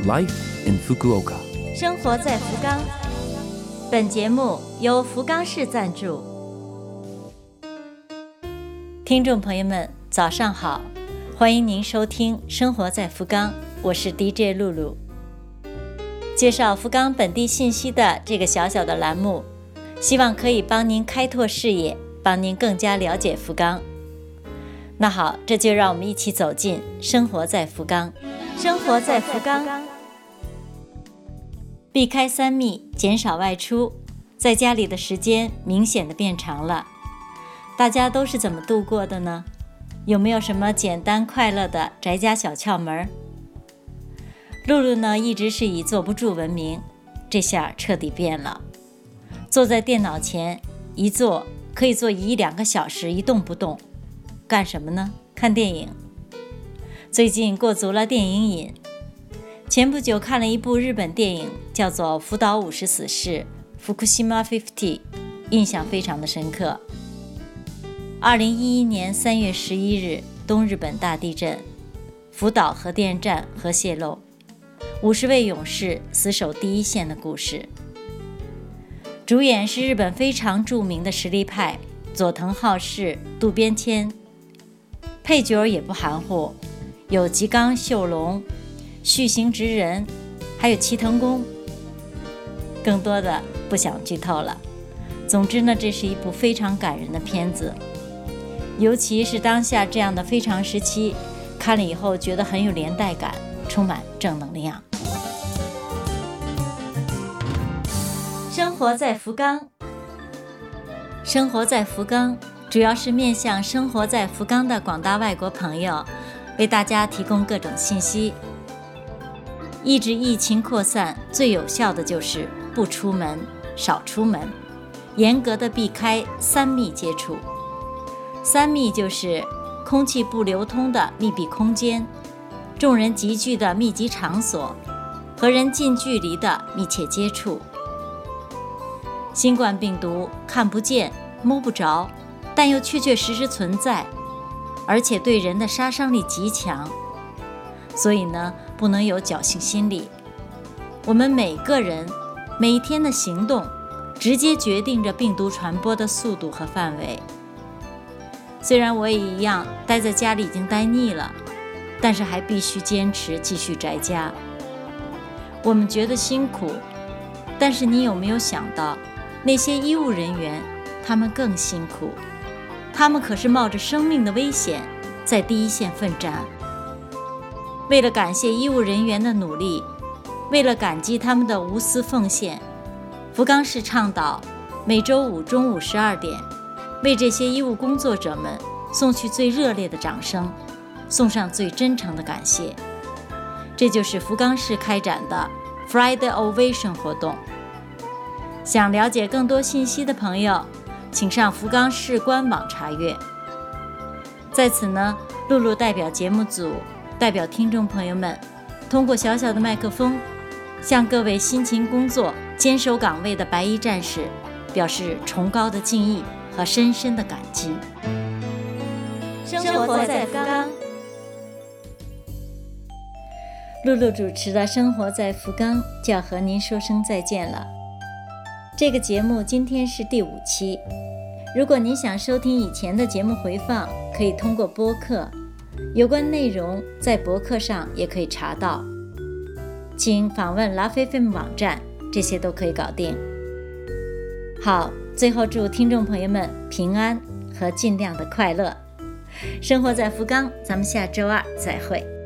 Life in Fukuoka。 生活在福冈。本节目由福冈市赞助。听众朋友们，早上好，欢迎您收听《生活在福冈》，我是 DJ 露露。介绍福冈本地信息的这个小小的栏目，希望可以帮您开拓视野，帮您更加了解福冈。那好，这就让我们一起走进生活在福冈。生活在福冈，避开3密，减少外出，在家里的时间明显的变长了。大家都是怎么度过的呢？有没有什么简单快乐的宅家小窍门？露露呢，一直是以坐不住闻名，这下彻底变了。坐在电脑前一坐可以坐1-2个小时一动不动，干什么呢？看电影。最近过足了电影瘾，前不久看了一部日本电影，叫做《福岛50死士》（Fukushima 50），印象非常的深刻。2011年3月11日，东日本大地震，福岛核电站核泄漏，50位勇士死守第一线的故事。主演是日本非常著名的实力派佐藤浩市、渡边谦，配角也不含糊，有吉冈秀隆、续行直人，还有齐藤工。更多的不想剧透了。总之呢，这是一部非常感人的片子，尤其是当下这样的非常时期，看了以后觉得很有连带感，充满正能量。生活在福冈，生活在福冈主要是面向生活在福冈的广大外国朋友，为大家提供各种信息。抑制疫情扩散最有效的就是不出门、少出门，严格的避开3密接触。3密就是空气不流通的密闭空间，众人集聚的密集场所，和人近距离的密切接触。新冠病毒看不见、摸不着，但又确确实实存在，而且对人的杀伤力极强。所以呢，不能有侥幸心理。我们每个人每一天的行动，直接决定着病毒传播的速度和范围。虽然我也一样待在家里已经待腻了，但是还必须坚持继续宅家。我们觉得辛苦，但是你有没有想到，那些医务人员他们更辛苦，他们可是冒着生命的危险在第一线奋战。为了感谢医务人员的努力，为了感激他们的无私奉献，福冈市倡导每周5中午12点为这些医务工作者们送去最热烈的掌声，送上最真诚的感谢。这就是福冈市开展的 Friday Ovation 活动。想了解更多信息的朋友，请上福冈市官网查阅。在此呢，露露代表节目组，代表听众朋友们，通过小小的麦克风，向各位辛勤工作、坚守岗位的白衣战士表示崇高的敬意和深深的感激。生活在福冈，露露主持的《生活在福冈》就要和您说声再见了。这个节目今天是第5期，如果您想收听以前的节目回放，可以通过播客，有关内容在博客上也可以查到，请访问 LoveFM 网站，这些都可以搞定。好，最后祝听众朋友们平安和尽量的快乐。生活在福冈，咱们下周2再会。